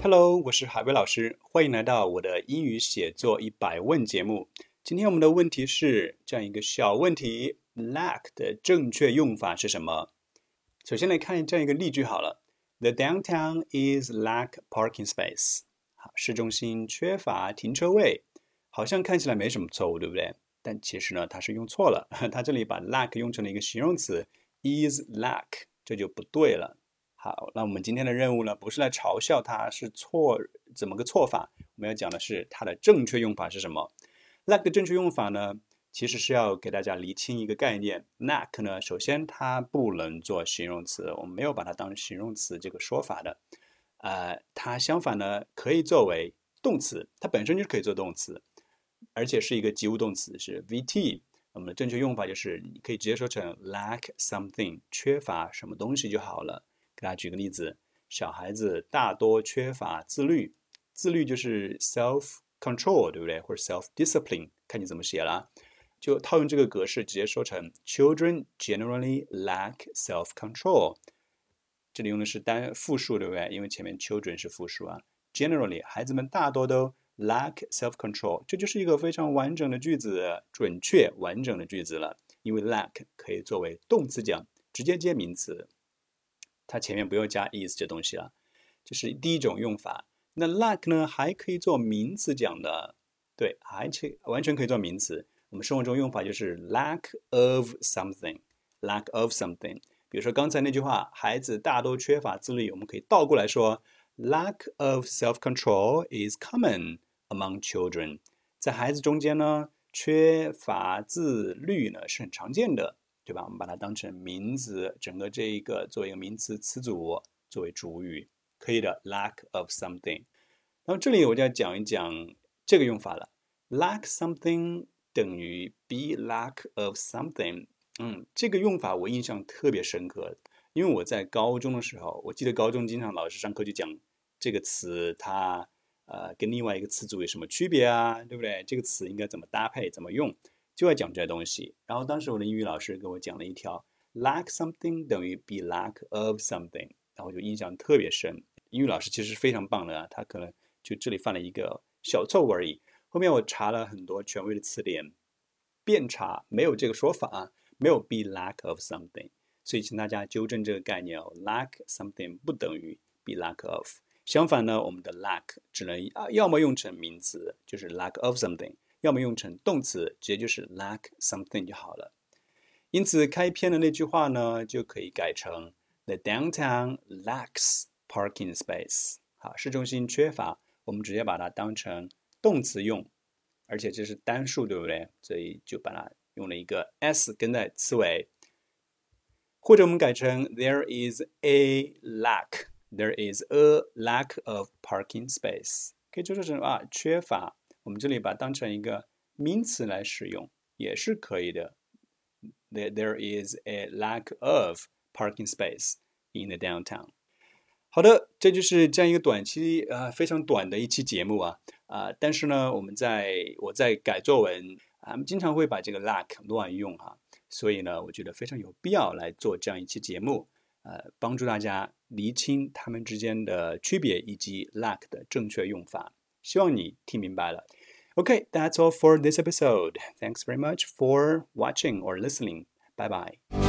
Hello， 我是海威老师，欢迎来到我的英语写作100问节目。今天我们的问题是这样一个小问题 ：lack 的正确用法是什么？首先来看这样一个例句好了 ：The downtown is lack parking space。好，市中心缺乏停车位，好像看起来没什么错误，对不对？但其实呢，它是用错了，它这里把 lack 用成了一个形容词 is lack， 这就不对了。好，那我们今天的任务呢，不是来嘲笑它是错，怎么个错法？我们要讲的是它的正确用法是什么 ？lack 的正确用法呢，其实是要给大家厘清一个概念。lack 呢，首先它不能做形容词，我们没有把它当形容词这个说法的。它相反呢，可以作为动词，它本身就可以做动词，而且是一个及物动词，是 VT。我们的正确用法就是你可以直接说成 lack something， 缺乏什么东西就好了。给大家举个例子，小孩子大多缺乏自律，自律就是 self-control， 对不对？或者 self-discipline， 看你怎么写了。就套用这个格式，直接说成 Children generally lack self-control。这里用的是单复数，对不对？因为前面 children 是复数啊。Generally， 孩子们大多都 lack self-control， 这就是一个非常完整的句子，准确完整的句子了。因为 lack 可以作为动词讲，直接接名词。它前面不用加 is 这东西了，这是第一种用法。那 lack 呢，还可以做名词讲的，对，完全可以做名词。我们生活中用法就是 lack of something，lack of something。比如说刚才那句话，孩子大多缺乏自律，我们可以倒过来说 lack of self-control is common among children。在孩子中间呢，缺乏自律呢是很常见的。对吧？我们把它当成名词，整个这一个作为一个名词词组作为主语，可以的。lack of something。然后这里我就要讲一讲这个用法了。lack something 等于 be lack of something。这个用法我印象特别深刻，因为我在高中的时候，我记得高中经常老师上课就讲这个词，它跟另外一个词组有什么区别啊？对不对？这个词应该怎么搭配，怎么用？就要讲这些东西。然后当时我的英语老师给我讲了一条 lack something 等于 be lack of something， 然后就印象特别深。英语老师其实是非常棒的啊，他可能就这里犯了一个小错误而已。后面我查了很多权威的词典，遍查没有这个说法啊，没有 be lack of something， 所以请大家纠正这个概念哦 ，lack something 不等于 be lack of。相反呢，我们的 lack 只能要么用成名词，就是 lack of something。要么用成动词，直接就是 lack something 就好了。因此，开篇的那句话呢，就可以改成 The downtown lacks parking space。好，市中心缺乏，我们直接把它当成动词用，而且这是单数，对不对？所以就把它用了一个 s 跟在词尾，或者我们改成 There is a lack。There is a lack of parking space， 可以就说成缺乏。我们这里把它当成一个名词来使用，也是可以的。There is a lack of parking space in the downtown。好的，这就是这样一个短期非常短的一期节目啊。但是呢，我在改作文经常会把这个 lack 乱用哈，所以呢，我觉得非常有必要来做这样一期节目，帮助大家厘清它们之间的区别以及 lack 的正确用法。希望你听明白了。Okay, that's all for this episode. Thanks very much for watching or listening. Bye bye.